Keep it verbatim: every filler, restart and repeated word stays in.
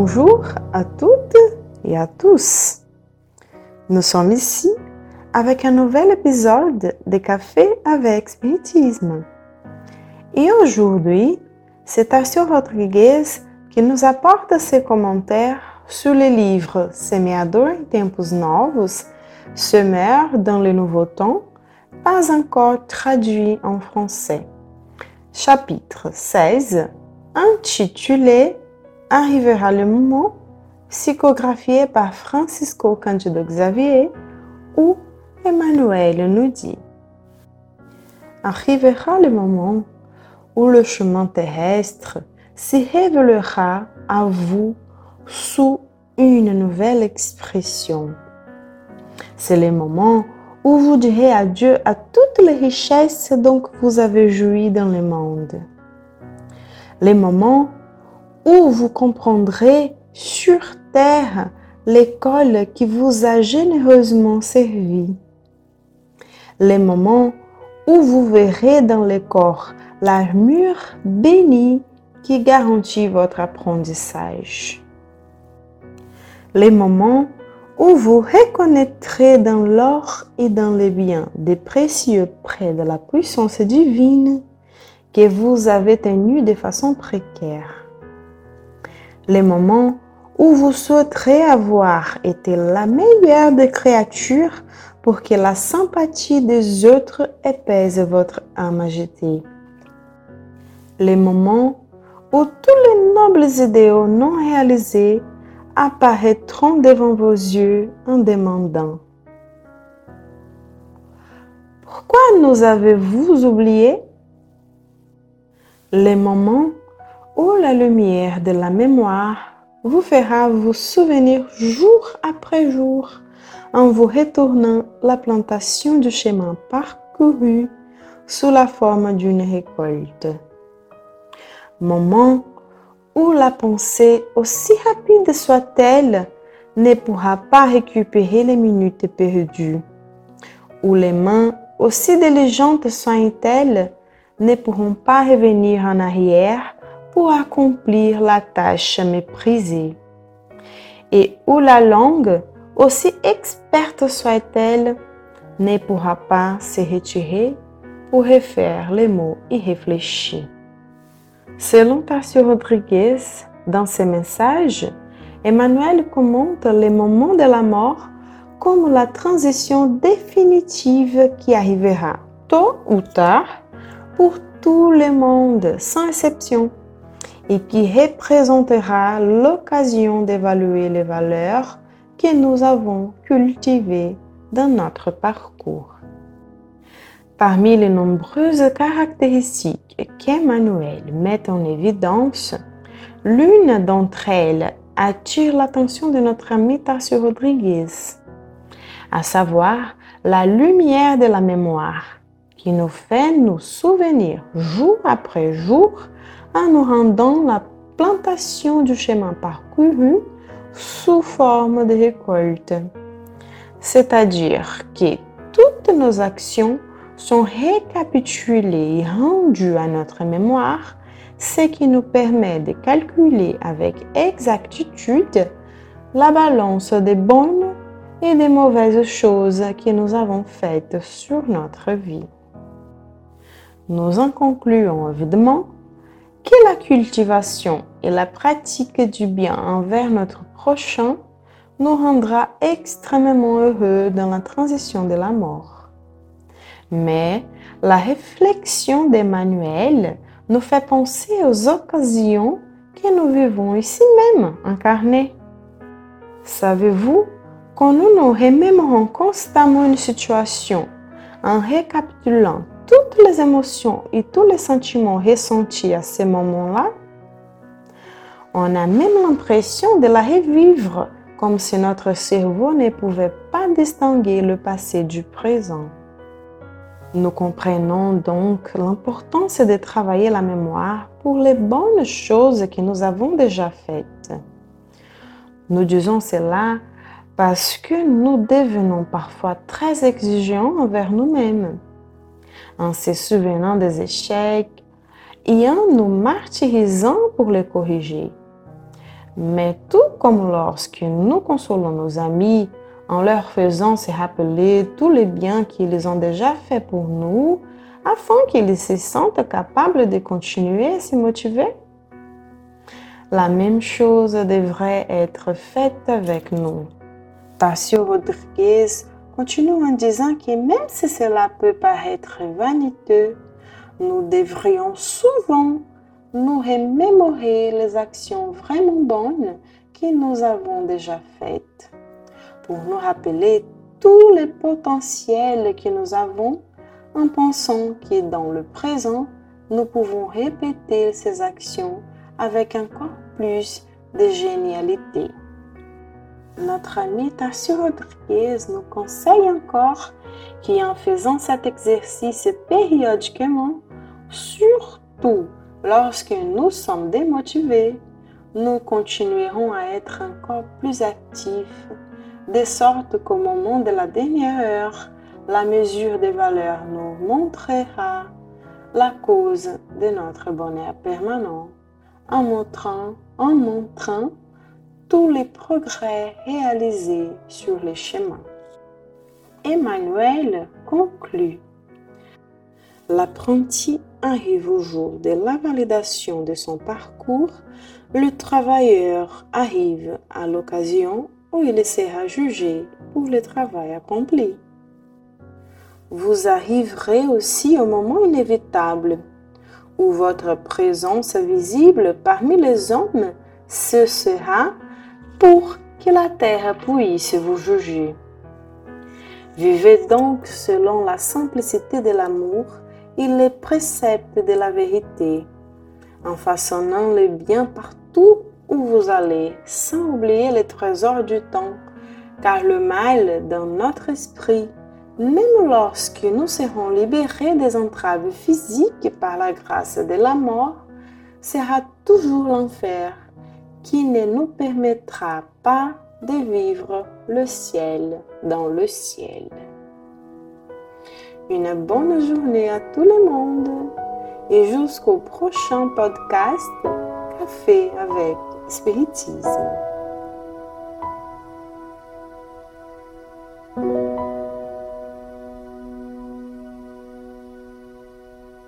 Bonjour à toutes et à tous. Nous sommes ici avec un nouvel épisode de Café avec Spiritisme. Et aujourd'hui, c'est Tarcio Rodrigues qui nous apporte ses commentaires sur le livre Semeador em Tempos Novos, Semeur dans le Nouveau Temps, pas encore traduit en français. Chapitre seize, intitulé Arrivera le moment, psychographié par Francisco Cândido Xavier, où Emmanuel nous dit: Arrivera le moment où le chemin terrestre se révélera à vous sous une nouvelle expression. C'est le moment où vous direz adieu à toutes les richesses dont vous avez joui dans le monde. Le moment où vous comprendrez sur terre l'école qui vous a généreusement servi. Le moment où vous verrez dans le corps l'armure bénie qui garantit votre apprentissage. Le moment où vous reconnaîtrez dans l'or et dans les biens des précieux près de la puissance divine que vous avez tenus de façon précaire. Le moment où vous souhaiterez avoir été la meilleure des créatures pour que la sympathie des autres épaise votre âme agitée. Le moment où tous les nobles idéaux non réalisés apparaîtront devant vos yeux en demandant: pourquoi nous avez-vous oubliés? Le moment où la lumière de la mémoire vous fera vous souvenir jour après jour en vous retournant la plantation du chemin parcouru sous la forme d'une récolte. Moment où la pensée, aussi rapide soit-elle, ne pourra pas récupérer les minutes perdues, où les mains, aussi diligentes soient-elles, ne pourront pas revenir en arrière pour accomplir la tâche méprisée, et où la langue, aussi experte soit-elle, ne pourra pas se retirer pour refaire les mots irréfléchis. Selon Tarcio Rodrigues, dans ses messages, Emmanuel commente les moments de la mort comme la transition définitive qui arrivera tôt ou tard pour tout le monde, sans exception, et qui représentera l'occasion d'évaluer les valeurs que nous avons cultivées dans notre parcours. Parmi les nombreuses caractéristiques qu'Emmanuel met en évidence, l'une d'entre elles attire l'attention de notre ami Tarcio Rodrigues, à savoir la lumière de la mémoire, qui nous fait nous souvenir jour après jour en nous rendant la plantation du chemin parcouru sous forme de récolte. C'est-à-dire que toutes nos actions sont récapitulées et rendues à notre mémoire, ce qui nous permet de calculer avec exactitude la balance des bonnes et des mauvaises choses que nous avons faites sur notre vie. Nous en concluons évidemment que la cultivation et la pratique du bien envers notre prochain nous rendra extrêmement heureux dans la transition de la mort. Mais la réflexion d'Emmanuel nous fait penser aux occasions que nous vivons ici même, incarnées. Savez-vous, quand nous nous remémorons constamment une situation en récapitulant toutes les émotions et tous les sentiments ressentis à ce moment-là, on a même l'impression de la revivre, comme si notre cerveau ne pouvait pas distinguer le passé du présent. Nous comprenons donc l'importance de travailler la mémoire pour les bonnes choses que nous avons déjà faites. Nous disons cela parce que nous devenons parfois très exigeants envers nous-mêmes, en se souvenant des échecs et en nous martyrisant pour les corriger. Mais tout comme lorsque nous consolons nos amis en leur faisant se rappeler tous les biens qu'ils ont déjà faits pour nous, afin qu'ils se sentent capables de continuer à se motiver. La même chose devrait être faite avec nous. Tassio Rodrigues continue en disant que même si cela peut paraître vaniteux, nous devrions souvent nous remémorer les actions vraiment bonnes que nous avons déjà faites, pour nous rappeler tous les potentiels que nous avons en pensant que dans le présent, nous pouvons répéter ces actions avec encore plus de génialité. Notre ami Tassio Rodrigues nous conseille encore qu'en faisant cet exercice périodiquement, surtout lorsque nous sommes démotivés, nous continuerons à être encore plus actifs, de sorte qu'au moment de la dernière heure, la mesure des valeurs nous montrera la cause de notre bonheur permanent, en montrant, en montrant tous les progrès réalisés sur les chemins. Emmanuel conclut. L'apprenti arrive au jour de la validation de son parcours, le travailleur arrive à l'occasion où il sera jugé pour le travail accompli. Vous arriverez aussi au moment inévitable où votre présence visible parmi les hommes cessera pour que la terre puisse vous juger. Vivez donc selon la simplicité de l'amour et les préceptes de la vérité, en façonnant le bien partout où vous allez, sans oublier les trésors du temps, car le mal dans notre esprit, même lorsque nous serons libérés des entraves physiques par la grâce de la mort, sera toujours l'enfer qui ne nous permettra pas de vivre le ciel dans le ciel. Une bonne journée à tout le monde et jusqu'au prochain podcast Café avec Spiritisme.